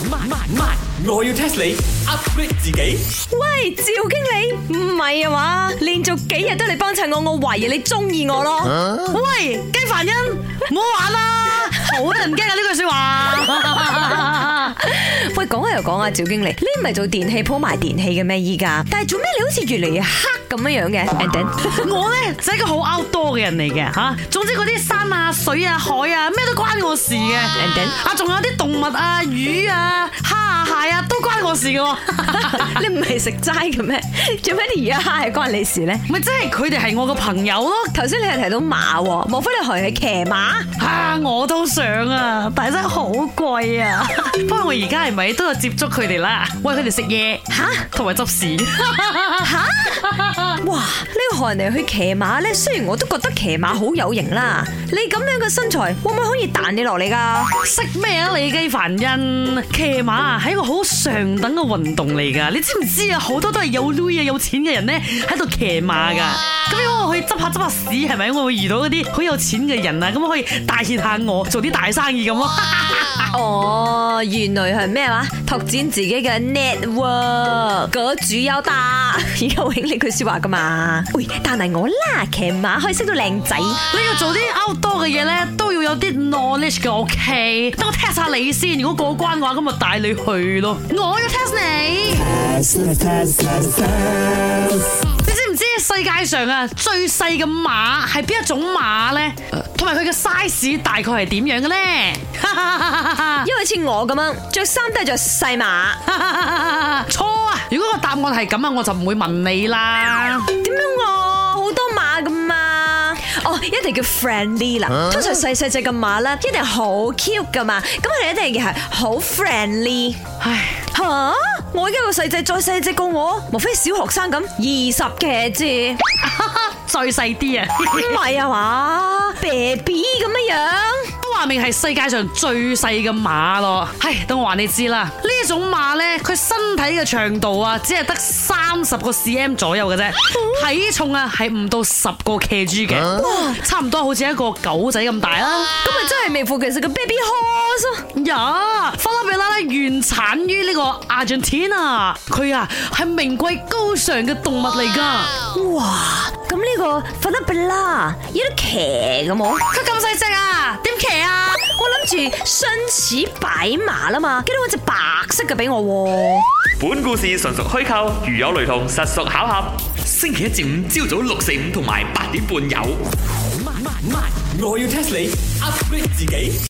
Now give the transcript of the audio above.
我要 test 你 upgrade 自己。 喂，趙經理，唔係啊嘛，連續幾日都嚟幫襯我，我懷疑你中意我咯。 喂，雞凡欣，唔好玩啦，好得人驚啊！呢句說話。 喂，講下又講啊，趙經理，你唔係做電器鋪賣電器嘅咩？依家，但係做咩你好似越嚟越黑咁樣樣嘅 ？And then 我咧就係一個好 outdoor 嘅人嚟嘅吓，總之嗰啲山啊、水啊、海啊，咩都關我事嘅。 And then 啊，仲有啲動物啊、魚啊、蝦啊、蟹啊，都關我事嘅。 你唔係食齋嘅咩？做咩啲魚蝦係關你事咧？ 咪即係佢哋係我個朋友咯。 頭先你係提到馬喎，莫非你學係騎馬？ 啊，我都想啊，但係真係好貴啊。不過我而家係咪都有接觸佢哋啦？喂，佢哋食嘢吓， 同埋執屎吓！哇！呢個學人哋去騎馬咧，雖然我都覺得騎馬好有型啦，你咁樣嘅身材，會唔會可以彈你落嚟噶？ 識咩啊？你雞凡欣，騎馬啊係一個好上等嘅運動嚟噶，你知唔知啊？好多都係有鐳啊、有錢嘅人咧喺度騎馬噶。咁如果我去執下屎，係咪我會遇到嗰啲好有錢嘅人啊？咁可以帶挈下我做啲大生意咁咯。 哦，原來係咩話？拓展自己嘅 network，個主有打，而家永呢句說話噶嘛？喂，但係我啦，騎馬可以識到靚仔。 你要做啲 outdoor 嘅嘢咧，都要有啲 knowledge 嘅 ，OK？等我 test 下你先，如果過關嘅話，咁咪帶你去咯。我要 test 你。你知唔知世界上啊最細嘅馬係邊一種馬咧？同埋佢嘅 size 大概係點樣嘅咧？ 因為似我咁樣着衫都係着細碼。 錯啊！如果個答案係咁啊，我就唔會問你啦。 點樣啊？好多馬噶嘛？哦，一定叫 friendly 啦。通常細隻嘅馬咧，一定好 cute 噶嘛。咁佢哋一定係好 friendly。 唉， 吓！我而家個細隻再細隻過我，莫非小學生咁20 kg？ 再細啲啊！ 唔係啊嘛 ，baby 咁樣樣。 都話明係世界上最細嘅馬咯。唉，等我話你知啦，呢種馬咧，佢身體嘅長度啊，只係得30個 cm 左右嘅啫，體重啊係唔到10個 kg 嘅，哇，差唔多好似一個狗仔咁大啦。 咁咪真係名副其實嘅 baby horse 呀，法拉比拉咧原產於呢個 Argentina， 佢啊係名貴高尚嘅動物嚟噶。 哇！咁呢個法拉比拉有得騎嘅冇？ 佢咁細隻啊，點騎啊？ 我諗住身騎擺馬啦嘛，記得搵隻白色嘅俾我。 本故事純屬虛構，如有雷同，實屬巧合。星期一至五朝早6、4、5同埋8點半有。我要 test 你 upgrade 自己。